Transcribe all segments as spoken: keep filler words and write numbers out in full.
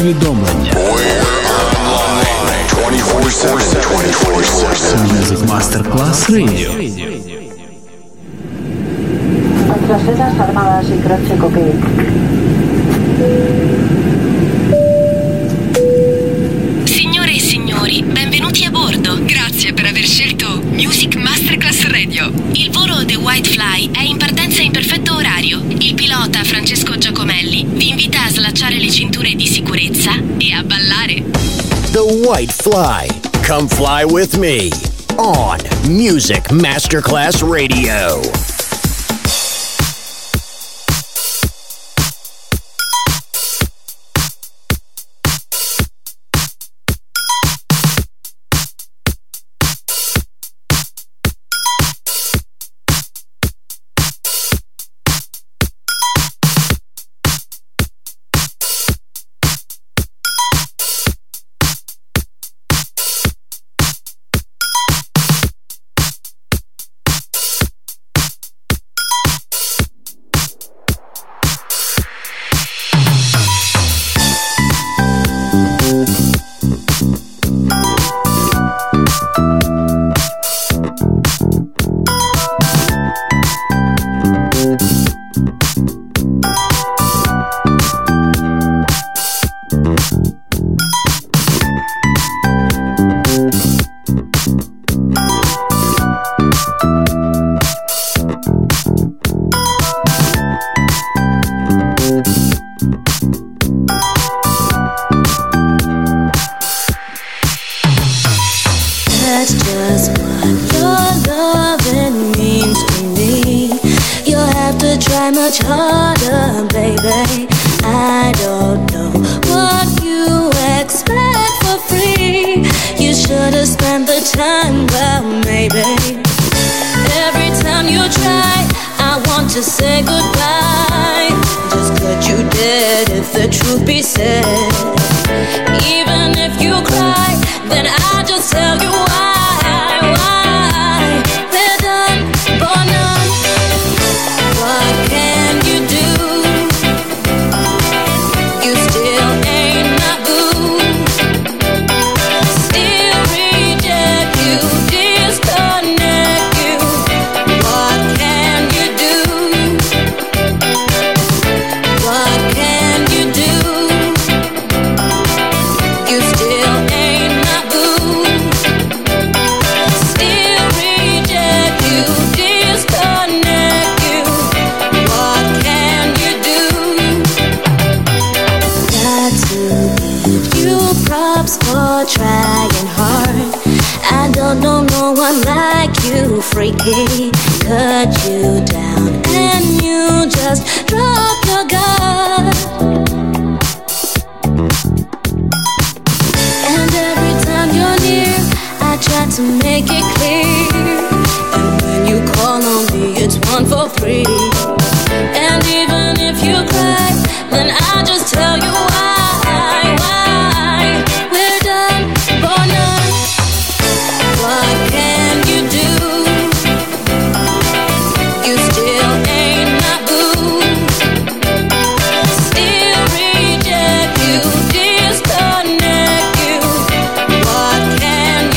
повідомлення. Music Masterclass Radio. Contra sedas armadas y croce cocaine. Signore e signori, benvenuti a bordo. Grazie per aver scelto Music Masterclass Radio. Il volo The White Fly è in partenza in perfetto orario. Il pilota Francesco Giacomelli vi invita a slacciare le cinture di sicurezza e a ballare. The White Fly. Come fly with me on Music Masterclass Radio.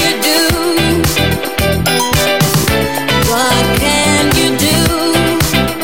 What can you do?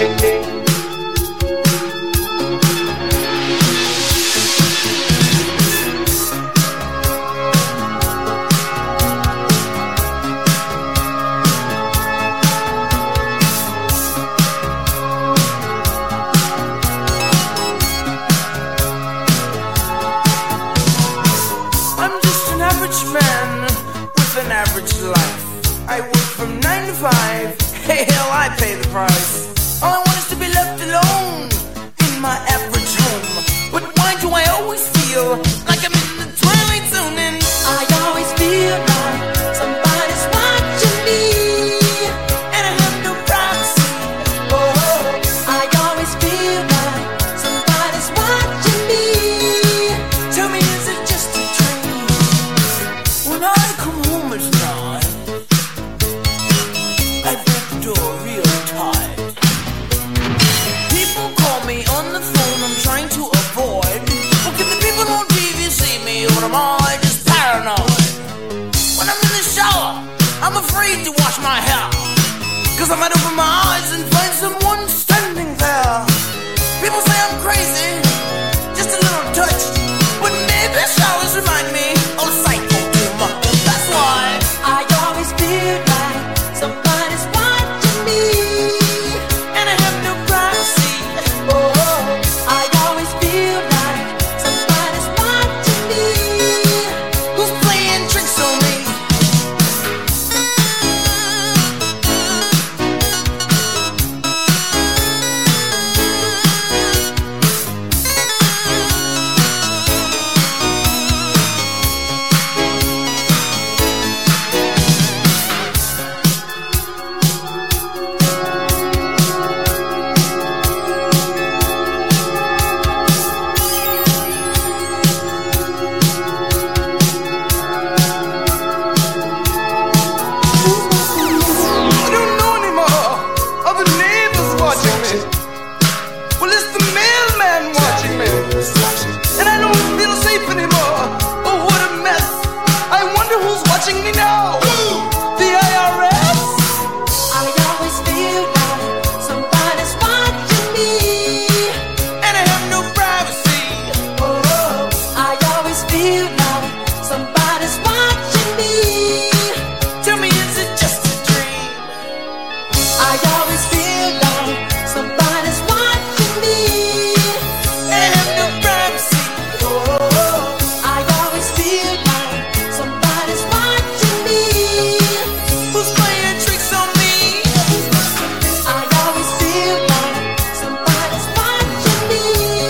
watching me. Man with an average life. I work from nine to five. Hey, hell, I pay the price. All I want is to be left alone in my average home. But why do I always feel like I'm in the twilight zone? And I always feel like somebody's watching me, and I have no privacy. Oh, I always feel like somebody's watching me. Tell me, is it just a dream? When I come home at night, I get the door real tight. People call me on the phone, I'm trying to avoid. Well, can the people on T V see me, or am I just paranoid? When I'm in the shower, I'm afraid to wash my hair, 'cause I might open my eyes and find someone standing there. People say I'm crazy, just a little touched, but maybe showers remind me of psycho too much. That's why I always feel like somebody's watching me, and I have no privacy. Oh, I always feel like somebody's watching me. Who's playing tricks on me? I don't know anymore. Are the neighbors watching me? Well, it's the mailman watching me. And I don't feel safe anymore. Oh, what a mess. I wonder who's watching me now. The I R S? I always feel like somebody's watching me, and I have no privacy. Oh, I always feel like somebody's watching me. Tell me, is it just a dream? I always feel like somebody's watching me, and I have no privacy. Oh, I always feel like somebody's watching me. Who's playing tricks on me? I always feel like somebody's watching me.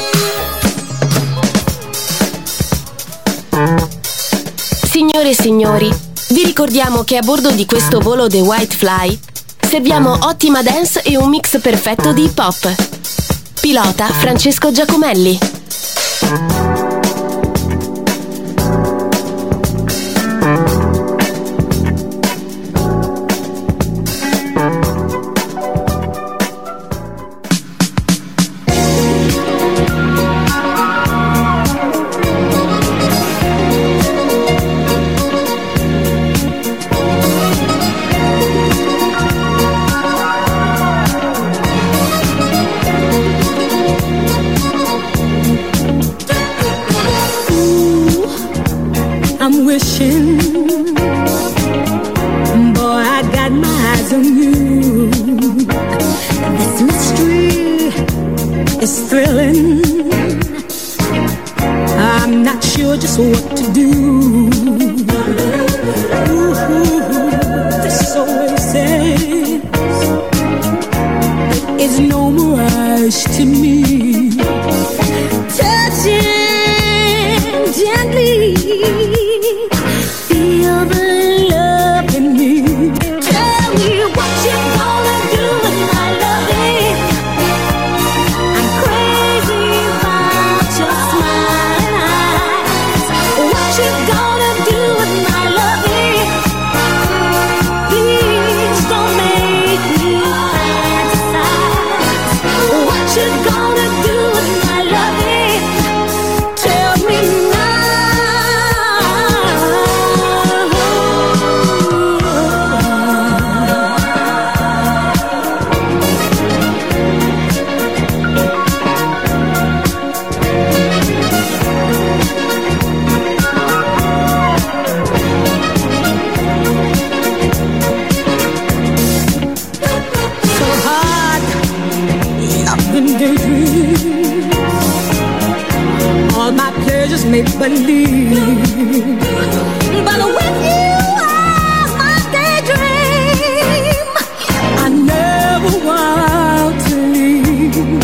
Signore e signori, vi ricordiamo che a bordo di questo volo The White Fly serviamo ottima dance e un mix perfetto di hip hop. Pilota Francesco Giacomelli. I'm wishing, boy, I got my eyes on you. This mystery is thrilling. I'm not sure just what to do. Ooh, this oasis is no mirage to me. Touching gently, feel the love in me. Tell me what you gonna do with my loving. I'm crazy about your smiling eyes. What you all my pleasures make believe. But with you are my daydream. I never want to leave.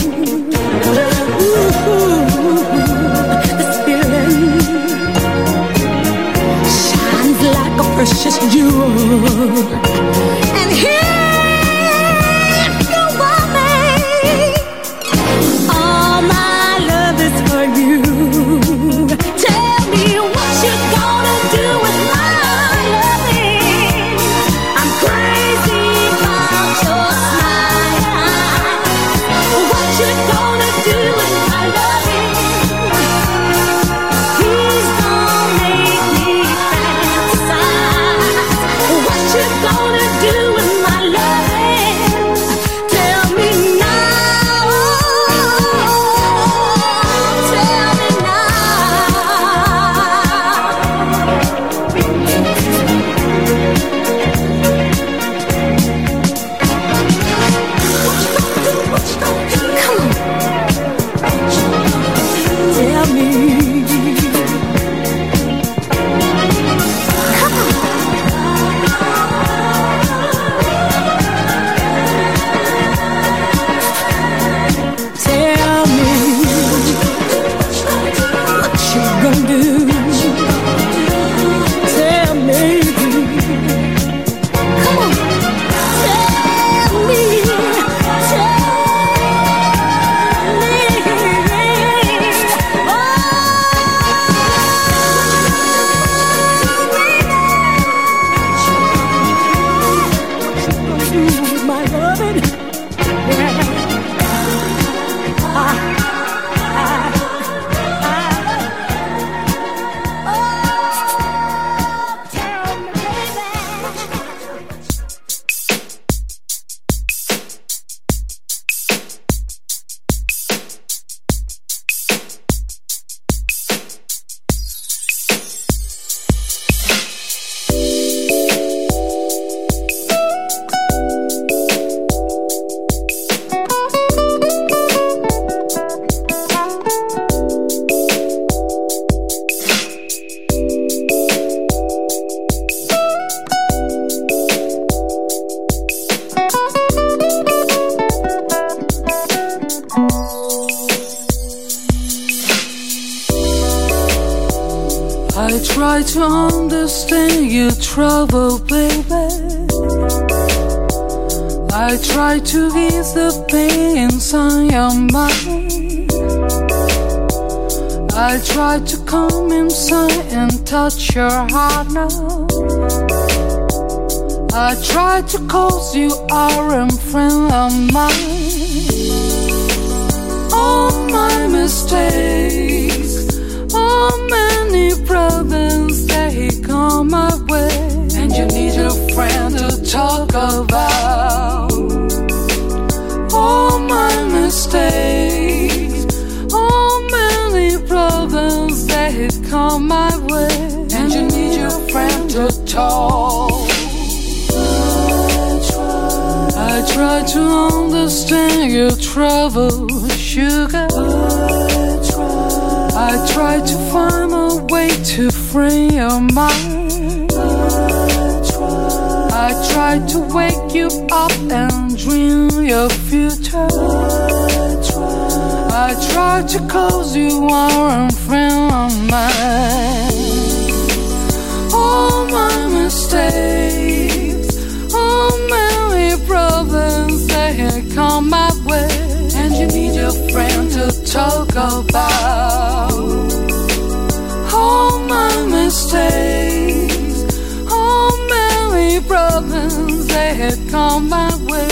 Ooh, this feeling shines like a precious jewel. And here you want me. All my love is for you. Tell me what you're gonna do with my loving. I'm crazy about your smile. What you gonna do with my loving? Please don't make me fantasize. What you gonna do with my loving? Tell me now. Tell me Tell me. Come on. Tell me what you gonna do. Tell me. Come on. Tell me. Tell me. Oh, my loving. Yeah. Ah, ah, ah. Oh, tell me, baby. I try to understand your trouble, baby. I try to ease the pain inside your mind. I try to come inside and touch your heart now. I try to cause you are a friend of mine. All my mistakes, all many problems, they come my way. And you need a friend to talk about. All my mistakes, all many problems, they come my way. And you need your friend to talk. I try to understand your trouble, sugar. I try to find a way to free your mind. I try to wake you up and dream your future. I try to cause you are a friend of mine. All my mistakes, all many problems, they come my way. And you need your friend to talk about. All my mistakes, all many problems, they had come my way.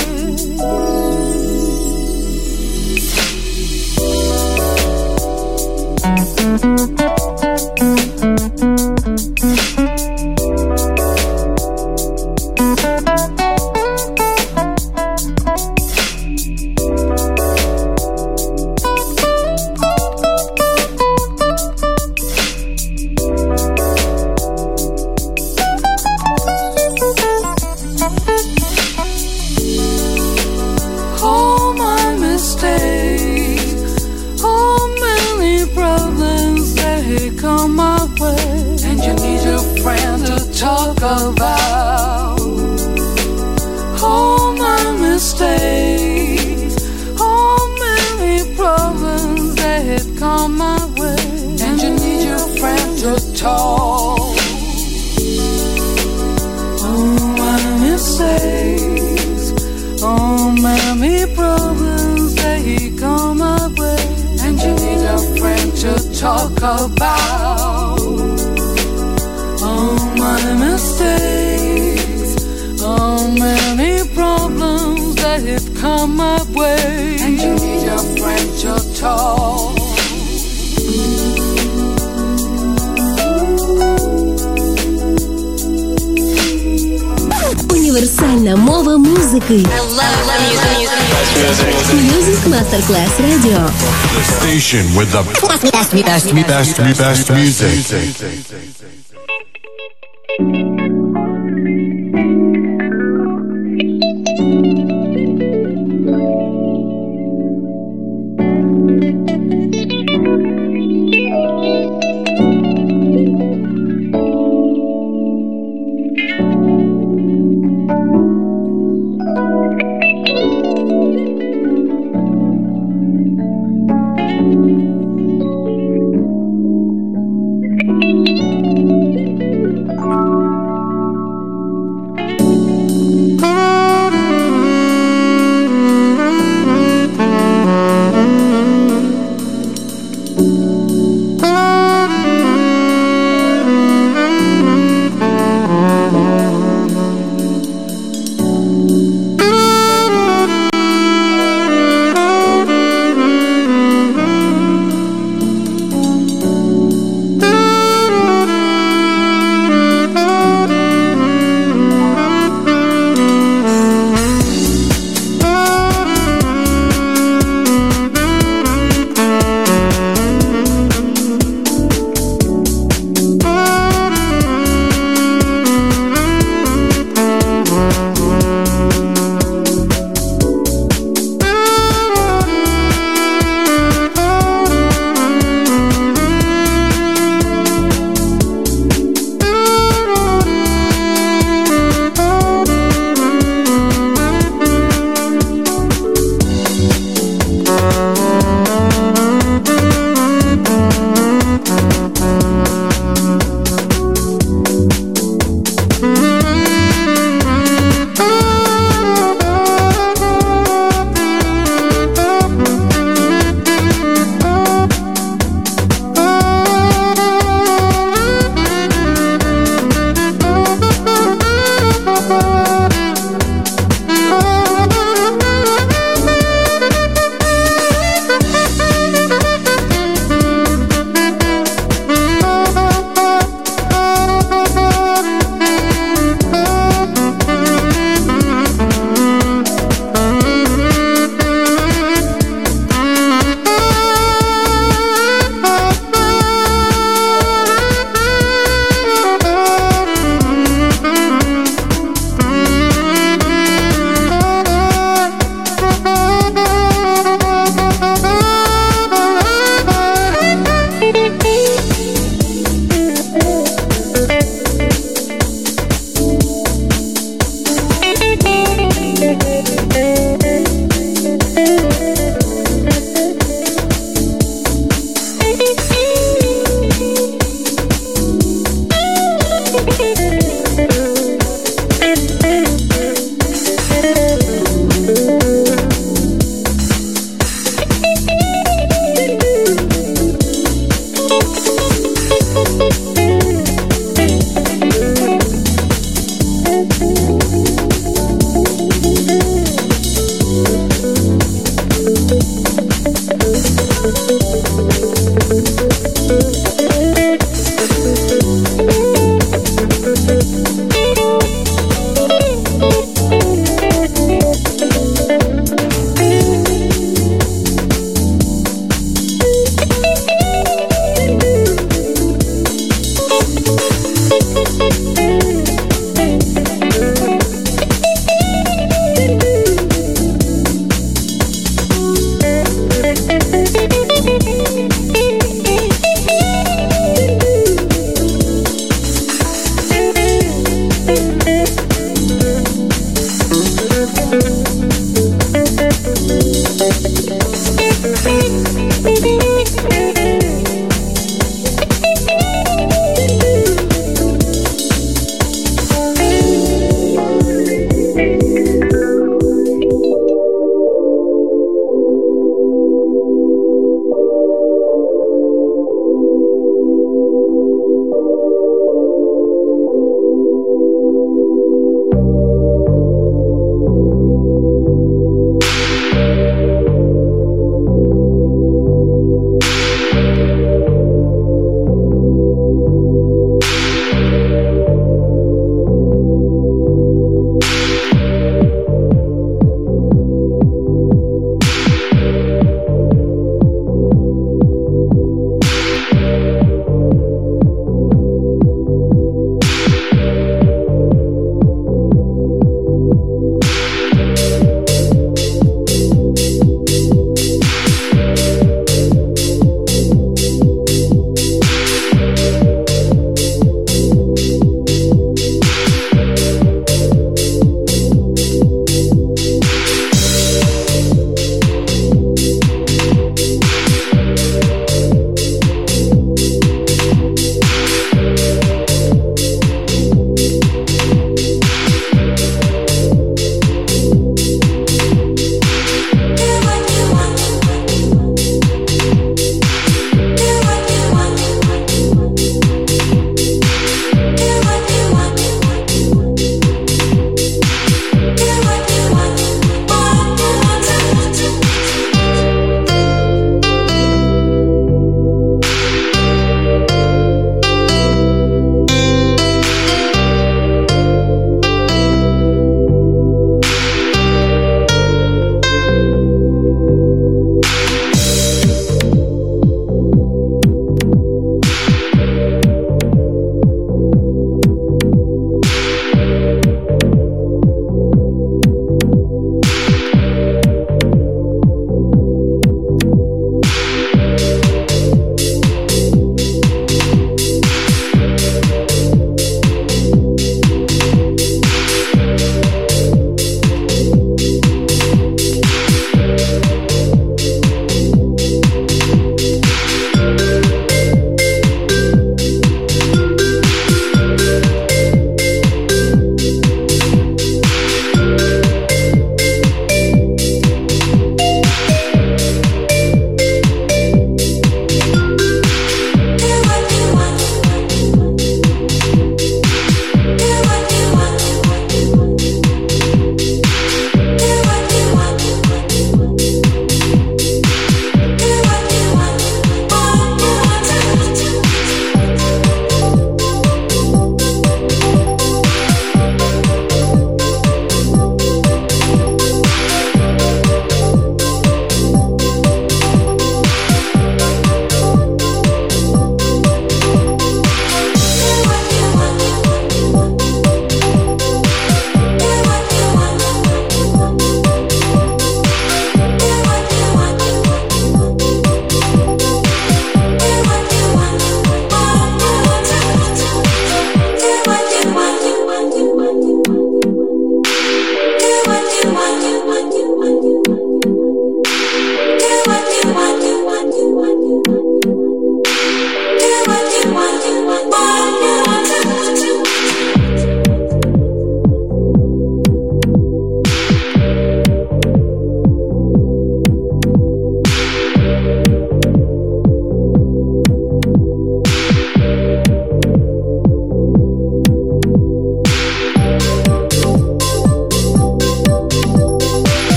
All my mistakes, all many problems, about all my mistakes, all many problems that had come my way, and you need your friend to talk. All my mistakes, all many problems that had come my way, and you need a friend to talk about. All my mistakes, all many problems that have come my way, and you need a friend to talk. Универсальна мова музики. Music Masterclass Radio. The station with the best, best, best, best, best music.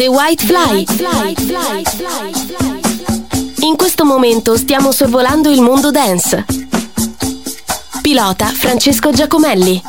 The White Fly. In questo momento stiamo sorvolando il mondo dance. Pilota Francesco Giacomelli.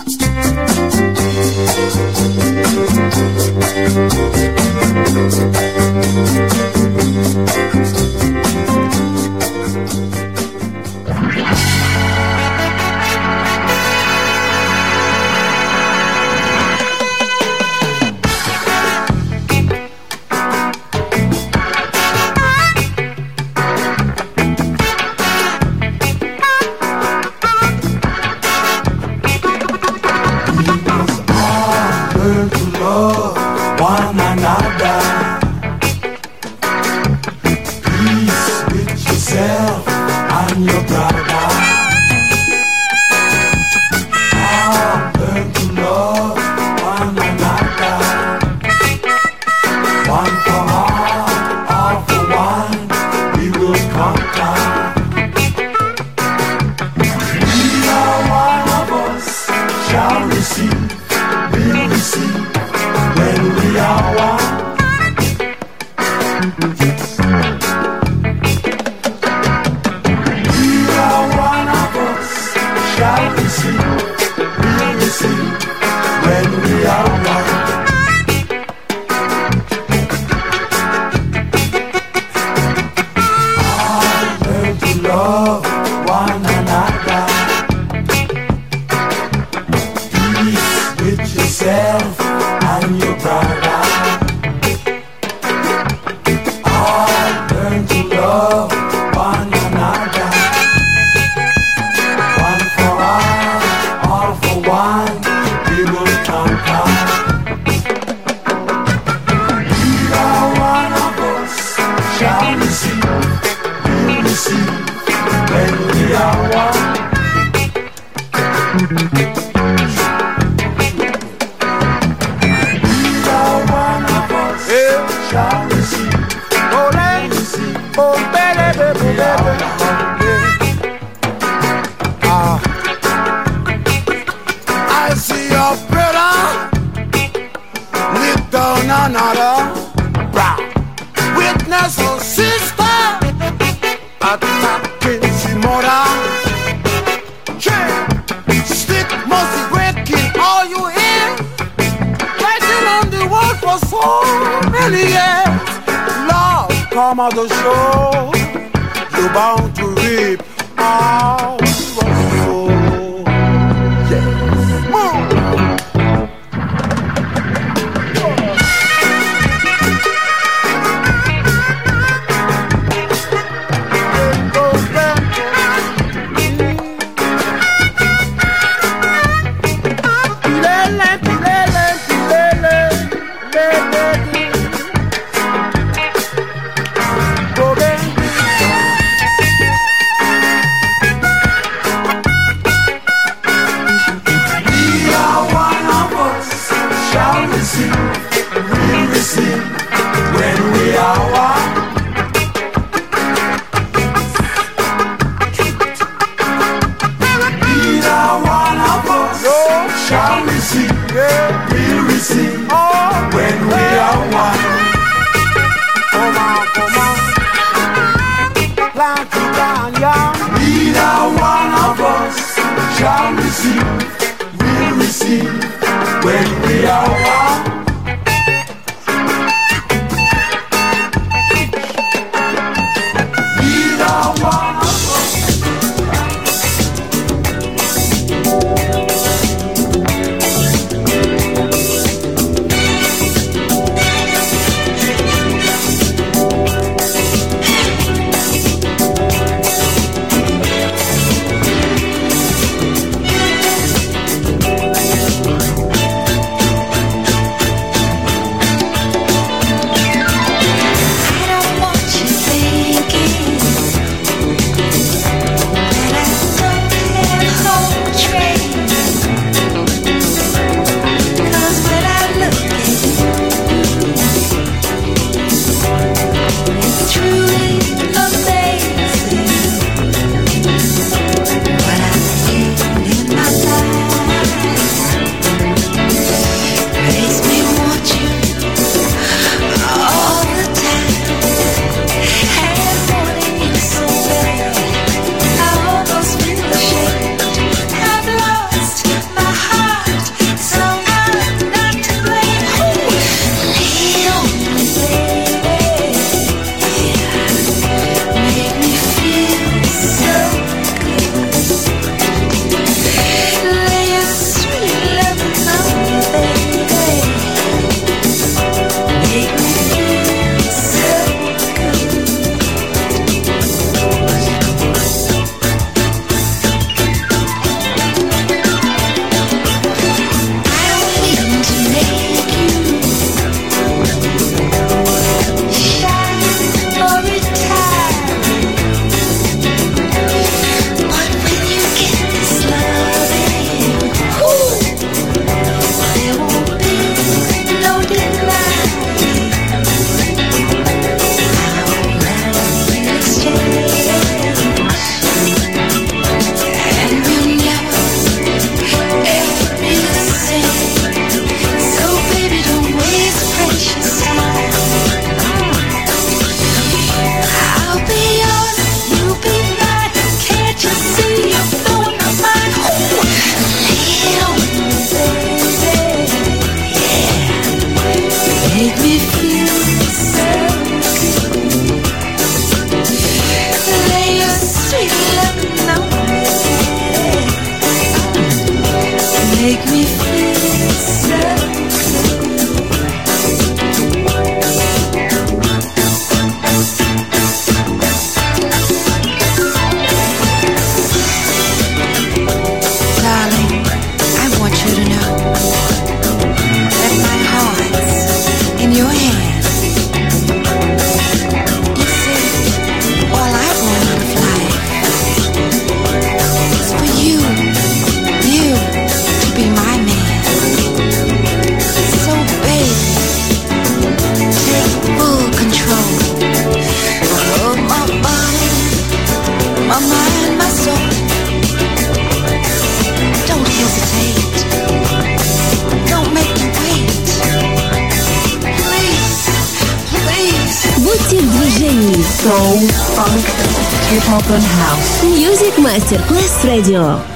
soul, funk, hip hop and house. Music Masterclass Radio.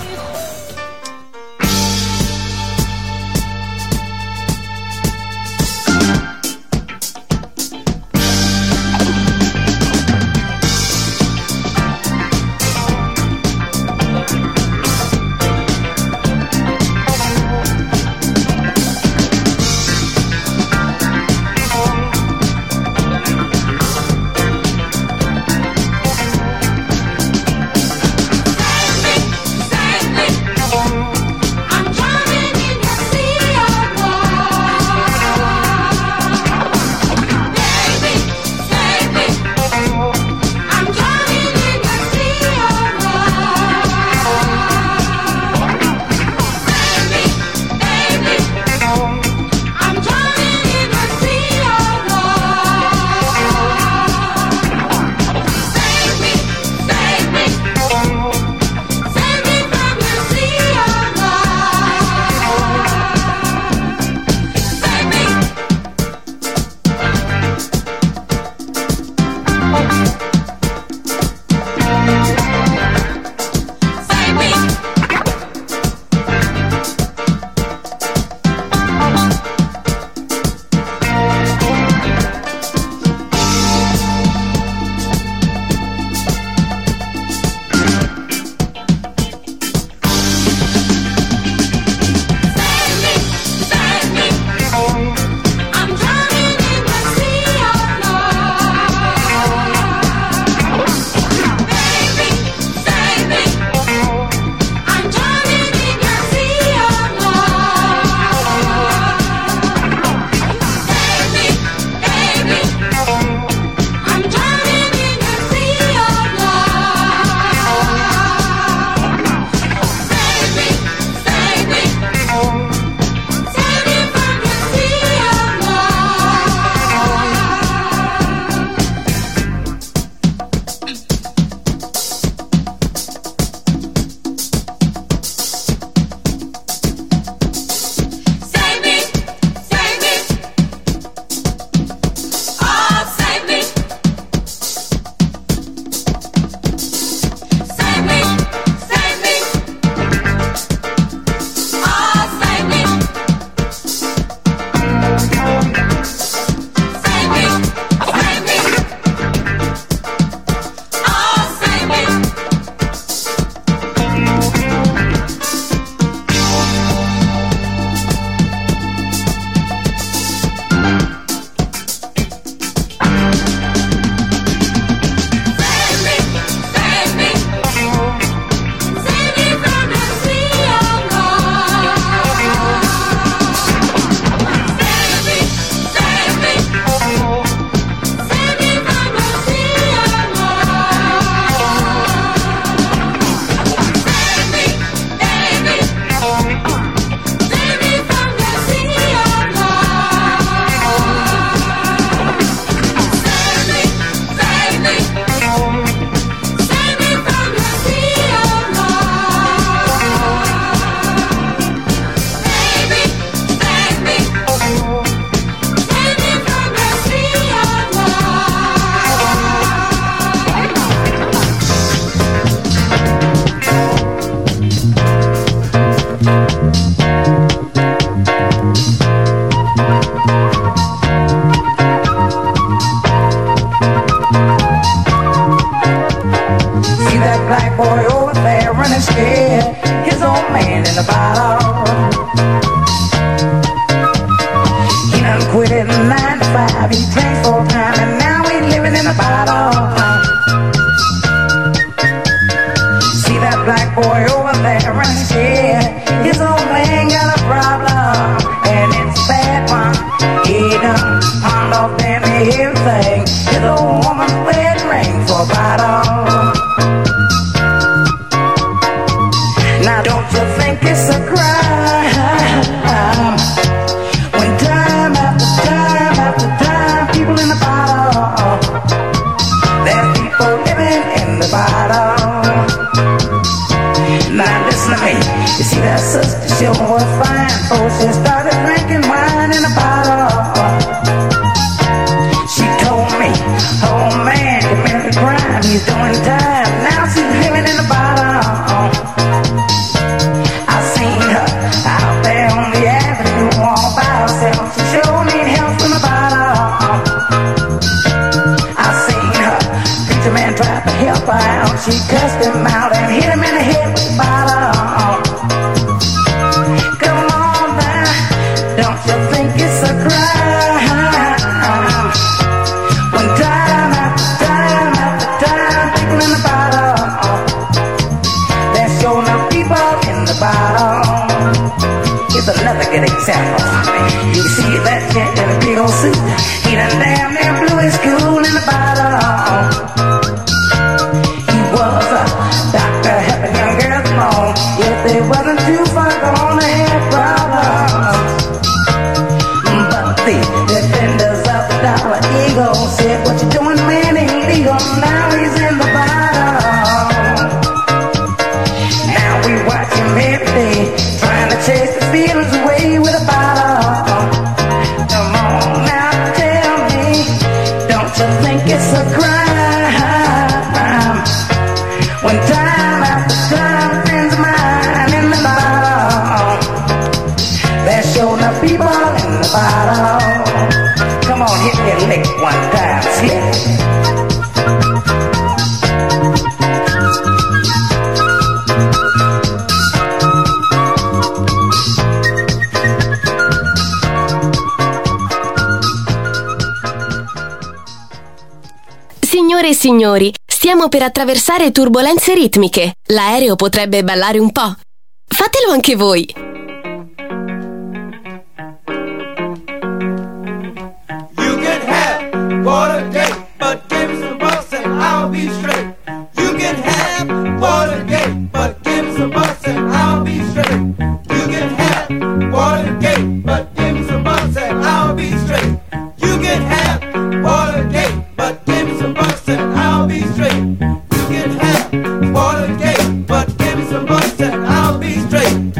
She was fine, so she started drinking wine in a bottle. She told me, oh man, come here. she's doing time. Now she's living in the bottom. I seen her out there on the avenue all by herself. She sure need help from the bottom. I seen her, preacher man tried to help her out. She cussed him out and hit him in the head with the bottom. Come on now, don't you think it's a crime? When time after time after time, people in the bottom, there's so enough people in the bottom. Here's another good example. You see that jet in a big old suit, he done damn near blew his cool in the bottom. He was a doctor helping young girls along, yet they wasn't too far gone to have problems. But the defenders of the dollar eagle said, what you doing, man, ain't legal. Now he's in the bottom. Now we watch him every day, trying to chase the feelings away with a bottle. Come on now, tell me, don't you think it's a crime? When time after time, friends of mine in the bottom, there's sure enough people in the bottom. Come on, hit me a lick one time, slip. Signore e signori, stiamo per attraversare turbolenze ritmiche. L'aereo potrebbe ballare un po'. Fatelo anche voi. You can have Watergate, but give me some bus and I'll be straight. You can have Watergate, but give me some bus and I'll be straight. You can have Watergate, but give me some bus and I'll be straight. You can have Watergate, but give me some bus and I'll be straight. You can have Watergate, but give me some bus and I'll be straight.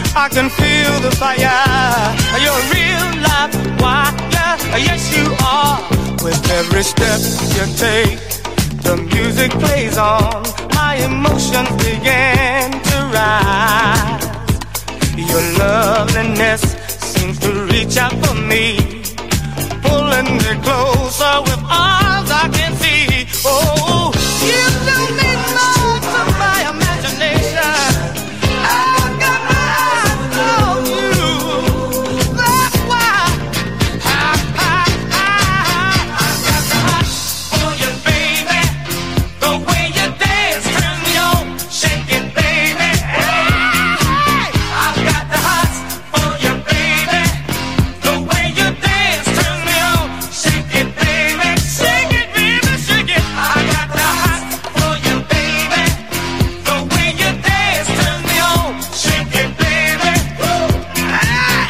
I can feel the fire. You're a real live wire. Yes, you are. With every step you take, the music plays on. My emotions begin to rise. Your loveliness seems to reach out for me, pulling me closer with arms I can see. Oh, you don't need much of my imagination. I've got my eyes on you. That's why I, I, I, I've got the hot for you, baby. The way you dance turns me on. Shake it, baby. I've got the hot for you, baby. The way you dance turns me on. Shake it, baby. Shake it, baby, shake it. I got the hot for you, baby. The way you dance turns me on. Shake it, baby. Ah.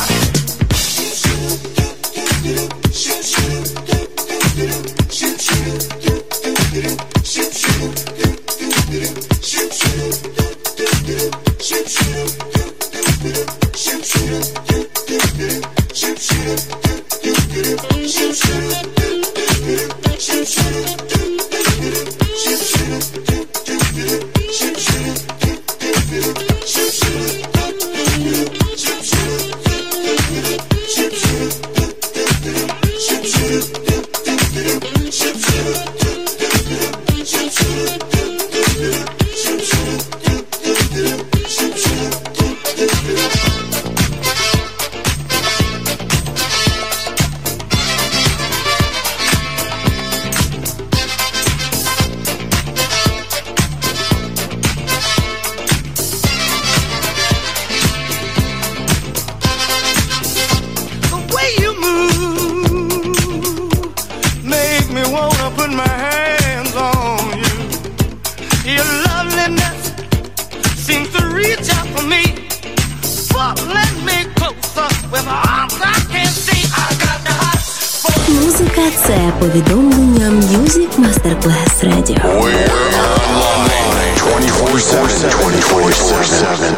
The way you move make me wanna put my hands on you. Your loveliness seems to reach out for me, pulling me closer with arms I can't see. I got the hot for Музика – це повідомлення Music Masterclass Radio. We're online twenty-four seven. twenty-four seven.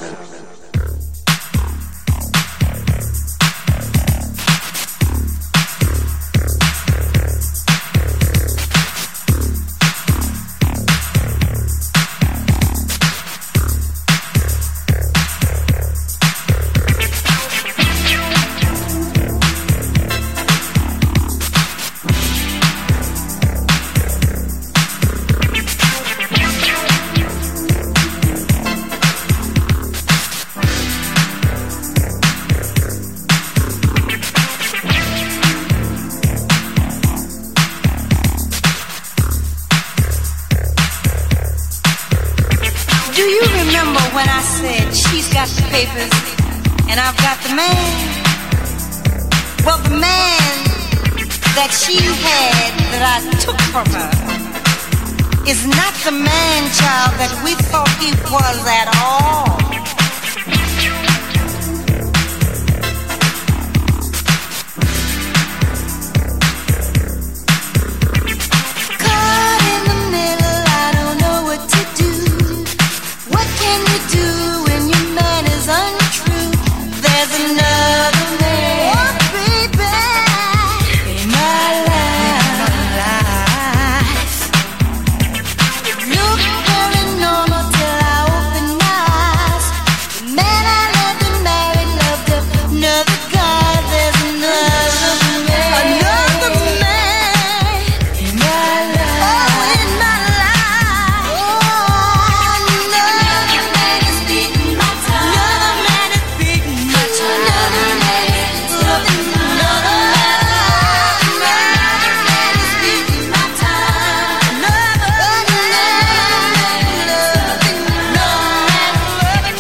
Do you remember when I said she's got the papers and I've got the man? Well, the man that she had that I took from her is not the man, child, that we thought he was at all. Caught in the middle, I don't know what to do. What can you do when your man is untrue? There's another man, oh, baby, in my life. It looked very normal till I opened my eyes. The man I loved and married loved another guy. There's another man, another man in my life. Oh, in my life. Oh, another man is beating my time. Another man is beating my time. Another man is loving another man. Another man is beating my time. Another man loving another man, loving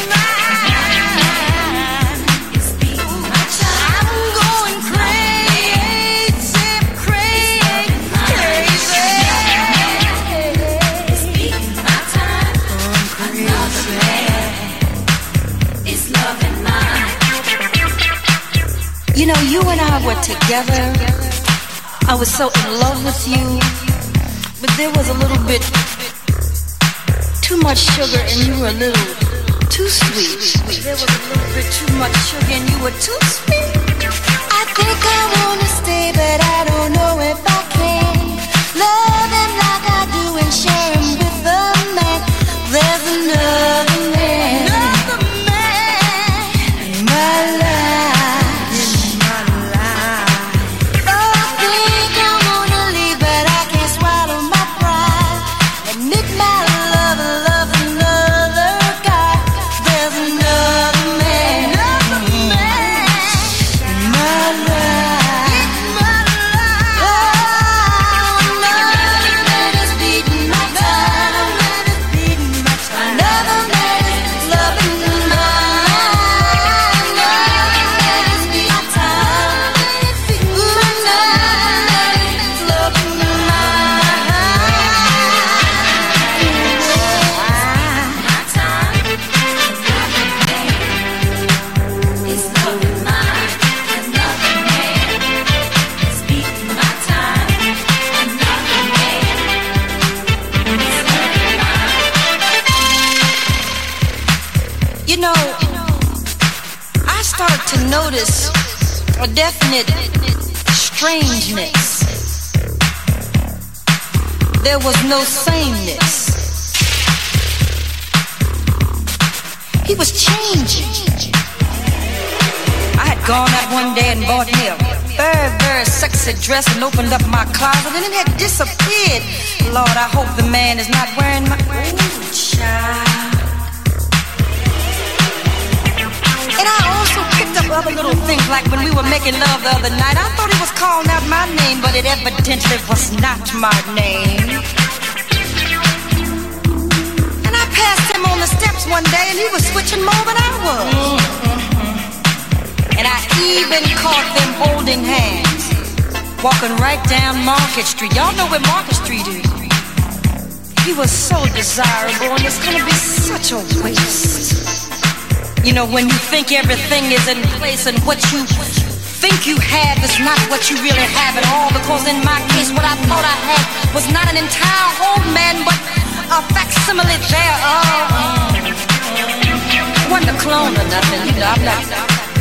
mine. It's beating my time. I'm going crazy, crazy, crazy. It's beating my time. Another man is loving mine. You know, you and I were together. I was so in love with you, but there was a little bit too much sugar and you were a little too sweet. There was a little bit too much sugar and you were too sweet. I think I wanna stay, but I don't know if I can. Love him like I do and share him with a man. There's another man, another man in my life, in my life. Oh, I think I wanna leave, but I can't swallow my pride. Admit my love, love another guy. There's another man, another man in my life, in my life. Oh, another man is beating my time. Another man is loving my life. Another man is beating my time. Another man is loving my You know, I started to notice a definite strangeness. There was no sameness. He was changing. I had gone out one day and bought me a very, very sexy dress and opened up my closet and it had disappeared. Lord, I hope the man is not wearing my... Ooh, child. And I also picked up other little things, like when we were making love the other night. I thought he was calling out my name, but it evidently was not my name. And I passed him on the steps one day, and he was switching more than I was. And I even caught them holding hands, walking right down Market Street. Y'all know where Market Street is. He was so desirable, and it's gonna be such a waste. You know, when you think everything is in place and what you think you have is not what you really have at all. Because in my case, what I thought I had was not an entire whole man, but a facsimile thereof. It wasn't a clone or nothing, you know, I'm not...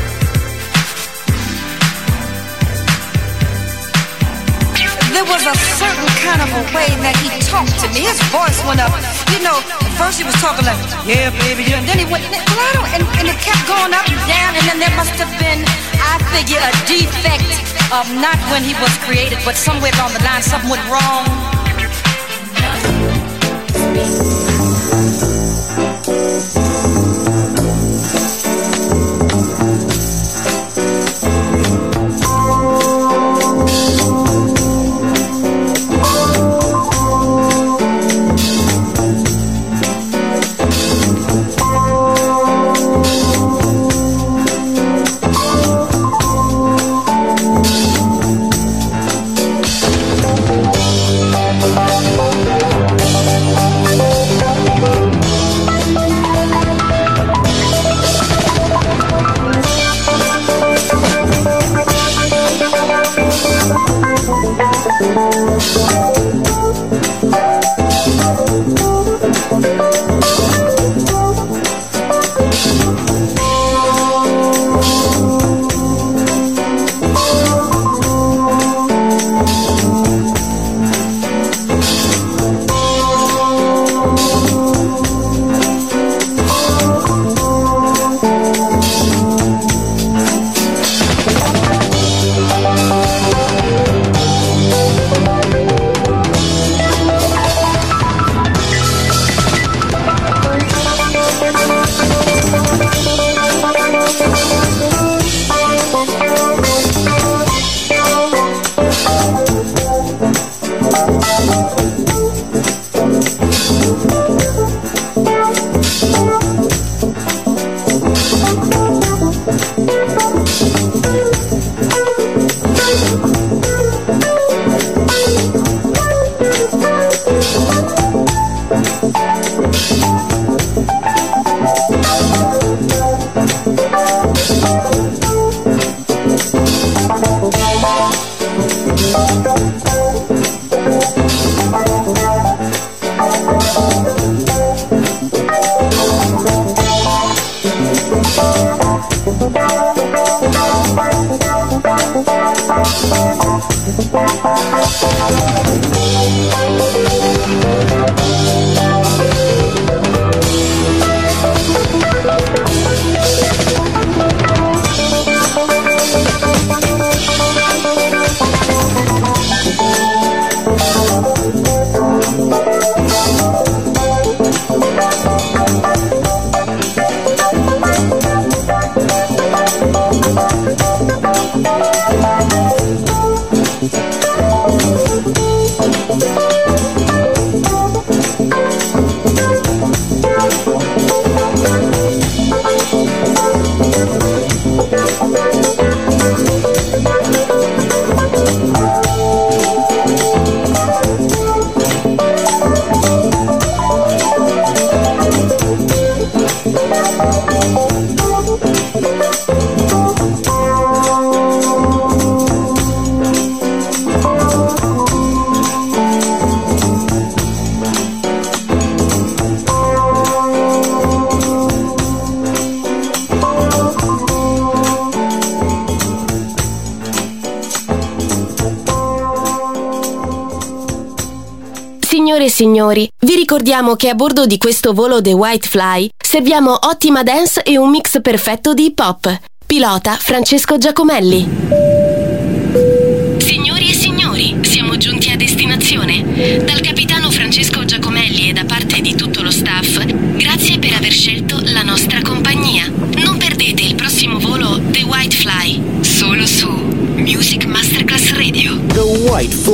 There was a certain kind of a way that he talked to me. His voice went up. You know, at first he was talking like, yeah, baby, yeah. And then he went, well, I don't, and, and it kept going up and down. And then there must have been, I figure, a defect of not when he was created, but somewhere along the line something went wrong. signori, vi ricordiamo che a bordo di questo volo The White Fly serviamo ottima dance e un mix perfetto di hip hop. Pilota Francesco Giacomelli. Signori e signori, siamo giunti a destinazione. Dal capitano Francesco Giacomelli e da parte di tutto lo staff, grazie per aver scelto la nostra compagnia. Non perdete il prossimo volo The White Fly, solo su Music Masterclass Radio. The White Fly.